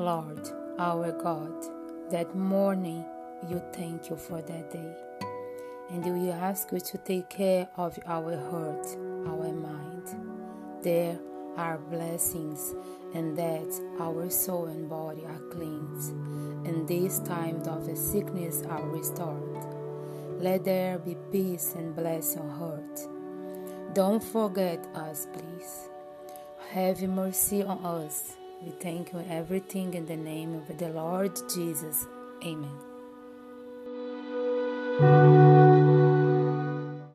Lord, our God, that morning you thank you for that day. And we ask you to take care of our heart, our mind. There are blessings, and that our soul and body are cleansed, and these times of sickness are restored. Let there be peace and bless your heart. Don't forget us, please. Have mercy on us. We thank you everything in the name of the Lord Jesus. Amen.